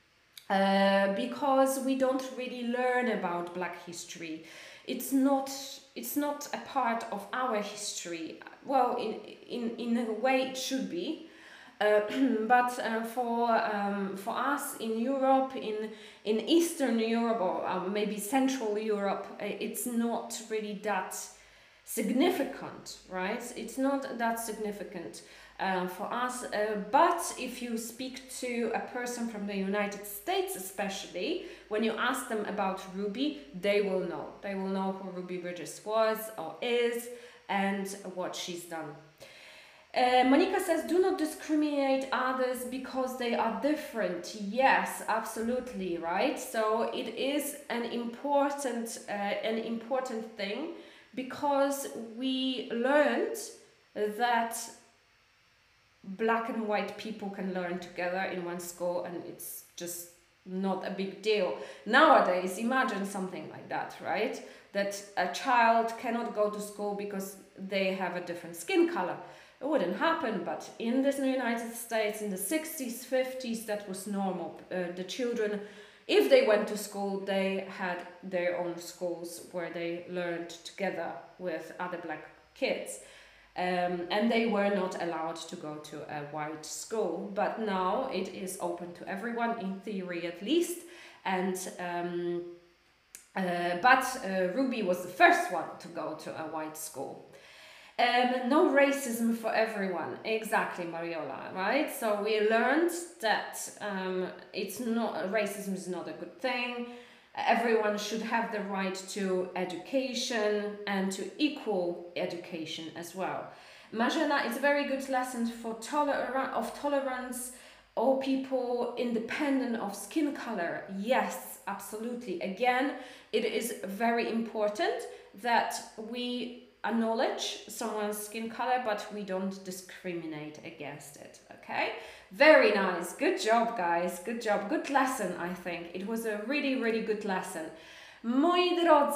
uh, because we don't really learn about Black history. It's not, it's not a part of our history. Well, in, in, in a way it should be. Uh, but uh, for um, for us in Europe, in in Eastern Europe or uh, maybe Central Europe, uh, it's not really that significant, right? It's not that significant uh, for us. Uh, but if you speak to a person from the United States, especially when you ask them about Ruby, they will know. They will know who Ruby Bridges was or is and what she's done. Uh, Monica says, do not discriminate others because they are different. Yes, absolutely, right? So it is an important, uh, an important thing because we learned that black and white people can learn together in one school and it's just not a big deal. Nowadays, imagine something like that, right? That a child cannot go to school because they have a different skin color. it wouldn't happen, but in the United States in the sixties, fifties, that was normal. Uh, the children, if they went to school, they had their own schools where they learned together with other black kids. Um, and they were not allowed to go to a white school, but now it is open to everyone, in theory at least. And um, uh, but uh, Ruby was the first one to go to a white school. Um, no racism for everyone, exactly, Mariola, right? So we learned that um, it's not racism is not a good thing. Everyone should have the right to education and to equal education as well. Marzena, it's a very good lesson for toler of tolerance, all people independent of skin color. Yes, absolutely. Again, it is very important that we acknowledge someone's skin color, but we don't discriminate against it, okay? Very nice. Good job, guys. Good job. Good lesson, I think. It was a really, really good lesson. Moi drodzy,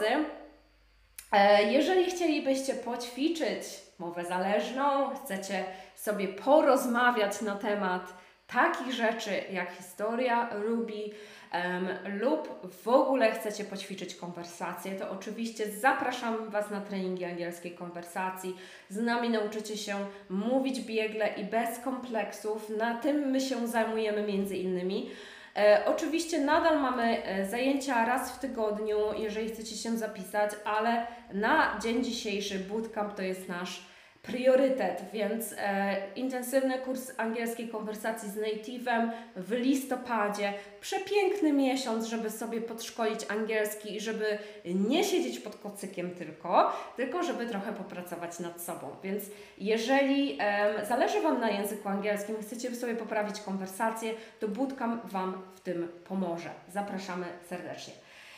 jeżeli chcielibyście poćwiczyć mowę zależną, chcecie sobie porozmawiać na temat takich rzeczy jak historia Ruby um, lub w ogóle chcecie poćwiczyć konwersację, to oczywiście zapraszam Was na treningi angielskiej konwersacji. Z nami nauczycie się mówić biegle i bez kompleksów. Na tym my się zajmujemy między innymi. E, oczywiście nadal mamy zajęcia raz w tygodniu, jeżeli chcecie się zapisać, ale na dzień dzisiejszy bootcamp to jest nasz priorytet, więc e, intensywny kurs angielskiej konwersacji z native'em w listopadzie. Przepiękny miesiąc, żeby sobie podszkolić angielski i żeby nie siedzieć pod kocykiem tylko, tylko żeby trochę popracować nad sobą. Więc jeżeli e, zależy Wam na języku angielskim, chcecie sobie poprawić konwersację, to bootcamp Wam w tym pomoże. Zapraszamy serdecznie.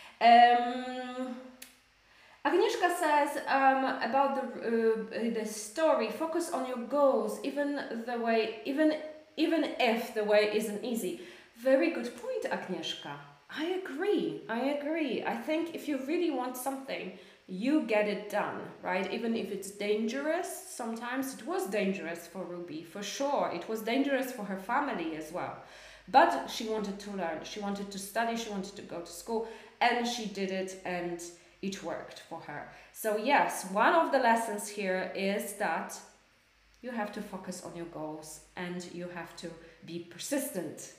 Um, Agnieszka says um, about the, uh, the story, focus on your goals, even the way, even even if the way isn't easy. Very good point, Agnieszka. I agree, I agree. I think if you really want something, you get it done, right? Even if it's dangerous, sometimes it was dangerous for Ruby, for sure. It was dangerous for her family as well. But she wanted to learn, she wanted to study, she wanted to go to school, and she did it, and it worked for her. So yes, one of the lessons here is that you have to focus on your goals and you have to be persistent.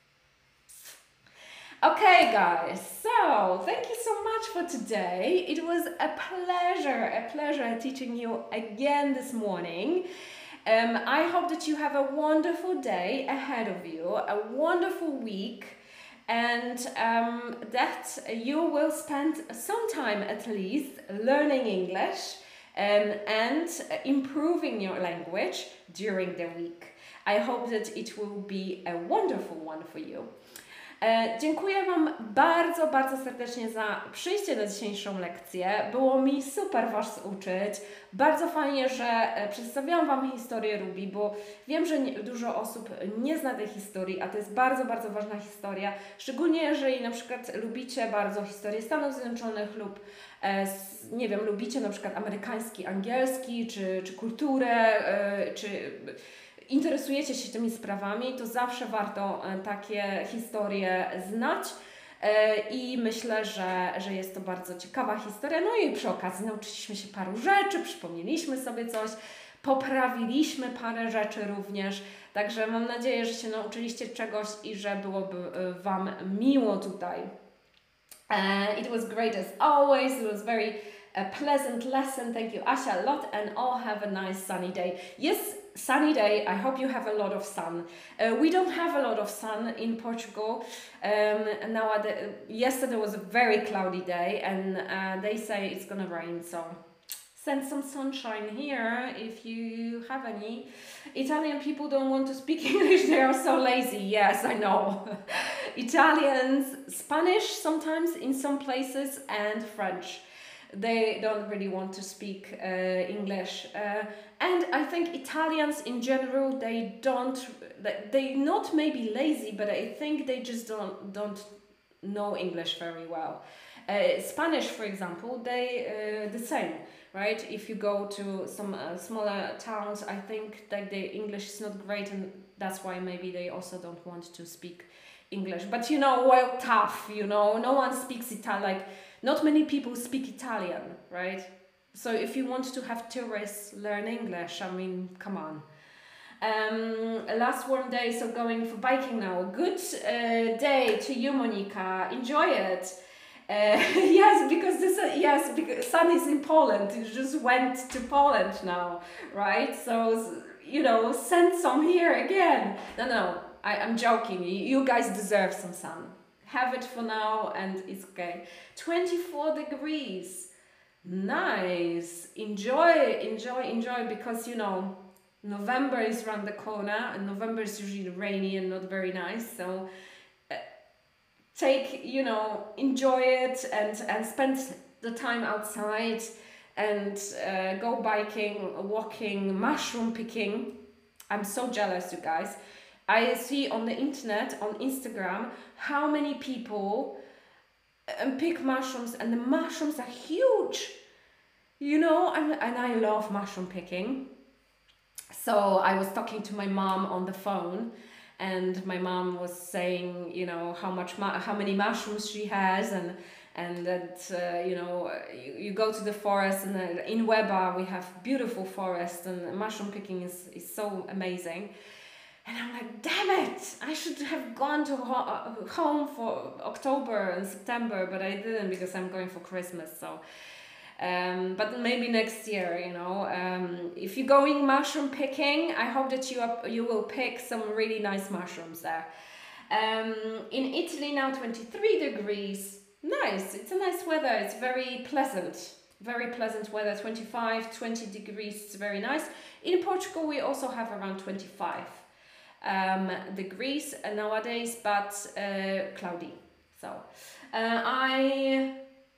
Okay, guys, so thank you so much for today. It was a pleasure, a pleasure teaching you again this morning. Um, I hope that you have a wonderful day ahead of you, a wonderful week, and um, that you will spend some time at least learning English um, and improving your language during the week. I hope that it will be a wonderful one for you. E, dziękuję Wam bardzo, bardzo serdecznie za przyjście na dzisiejszą lekcję. Było mi super Was uczyć. Bardzo fajnie, że przedstawiałam Wam historię Ruby, bo wiem, że nie, dużo osób nie zna tej historii, a to jest bardzo, bardzo ważna historia. Szczególnie jeżeli na przykład lubicie bardzo historię Stanów Zjednoczonych lub e, nie wiem, lubicie na przykład amerykański, angielski, czy, czy kulturę, e, czy interesujecie się tymi sprawami, to zawsze warto takie historie znać i myślę, że, że jest to bardzo ciekawa historia. No i przy okazji nauczyliśmy się paru rzeczy, przypomnieliśmy sobie coś, poprawiliśmy parę rzeczy również, także mam nadzieję, że się nauczyliście czegoś i że byłoby Wam miło tutaj. Uh, it was great as always, it was very a pleasant lesson. Thank you, Asia, a lot, and all have a nice sunny day. Yes, sunny day. I hope you have a lot of sun. Uh, we don't have a lot of sun in Portugal. Um, now, uh, yesterday was a very cloudy day, and uh, they say it's gonna rain. So, send some sunshine here if you have any. Italian people don't want to speak English. They are so lazy. Yes, I know. Italians, Spanish sometimes in some places, and French. They don't really want to speak uh, English, uh, and I think Italians in general, they don't, they not maybe lazy, but I think they just don't don't know English very well. Uh, Spanish, for example, they uh, the same. right? If you go to some uh, smaller towns, I think that the English is not great, and that's why maybe they also don't want to speak English. But you know, well, tough, you know, no one speaks Italian, like not many people speak Italian, right? So if you want to have tourists learn English, I mean, come on. Um, last warm day, so going for biking now. Good uh, day to you, Monika. Enjoy it. Uh, yes, because this uh, yes, because sun is in Poland. You just went to Poland now, right? So you know, send some here again. No, no, I, I'm joking. You guys deserve some sun. Have it for now, and it's okay. twenty-four degrees. Nice. Enjoy, enjoy, enjoy. Because you know, November is around the corner, and November is usually rainy and not very nice. So uh, take, you know, enjoy it and, and spend the time outside and uh, go biking, walking, mushroom picking. I'm so jealous, you guys. I see on the internet, on Instagram, how many people um, pick mushrooms, and the mushrooms are huge. You know, and, and I love mushroom picking. So I was talking to my mom on the phone, and my mom was saying, you know, how much, how many mushrooms she has, and and that uh, you know, you, you go to the forest, and uh, in Weber we have beautiful forests, and mushroom picking is is so amazing. And I'm like, damn it! I should have gone to ho home for October and September, but I didn't because I'm going for Christmas. So. Um, but maybe next year, you know, um, if you're going mushroom picking, I hope that you up, you will pick some really nice mushrooms there. Um, in Italy now, twenty-three degrees. Nice. It's a nice weather. It's very pleasant. Very pleasant weather. twenty-five, twenty degrees. It's very nice. In Portugal, we also have around twenty-five um, degrees nowadays, but uh, cloudy. So uh, I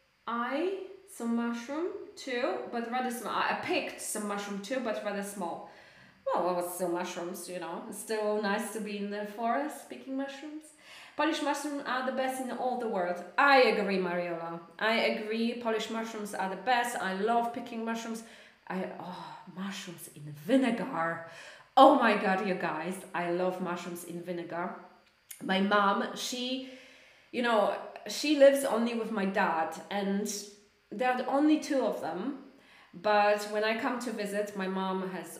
I. some mushroom too, but rather small. I picked some mushroom too, but rather small. Well, it was still mushrooms, you know. It's still nice to be in the forest picking mushrooms. Polish mushrooms are the best in all the world. I agree, Mariola. I agree. Polish mushrooms are the best. I love picking mushrooms. I oh, mushrooms in vinegar. Oh my God, you guys! I love mushrooms in vinegar. My mom, she, you know, she lives only with my dad, and there are only two of them, but when I come to visit, my mom has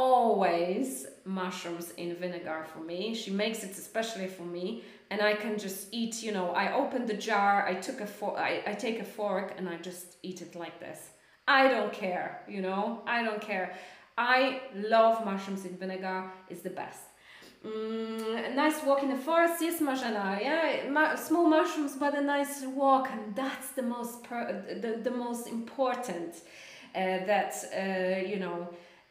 always mushrooms in vinegar for me. She makes it especially for me, and I can just eat, you know, I open the jar, I took a for I, I take a fork and I just eat it like this. I don't care, you know, I don't care. I love mushrooms in vinegar, it's the best. Mm, a nice walk in the forest, yes, Marzena. Yeah, ma small mushrooms, but a nice walk, and that's the most per the, the most important. Uh, that uh, you know,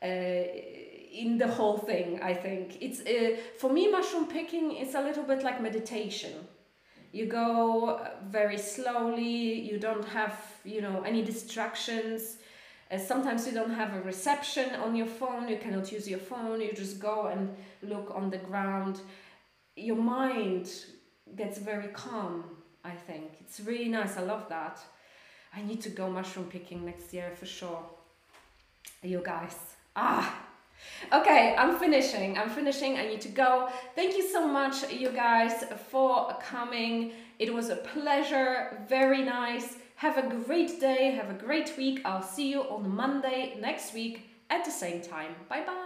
uh, in the whole thing, I think it's uh, for me. Mushroom picking is a little bit like meditation. You go very slowly. You don't have, you know, any distractions. Uh, sometimes you don't have a reception on your phone, you cannot use your phone, you just go and look on the ground. Your mind gets very calm, I think. It's really nice, I love that. I need to go mushroom picking next year for sure. You guys. Ah! Okay, I'm finishing, I'm finishing, I need to go. Thank you so much, you guys, for coming. It was a pleasure, very nice. Have a great day, have a great week. I'll see you on Monday next week at the same time. Bye bye.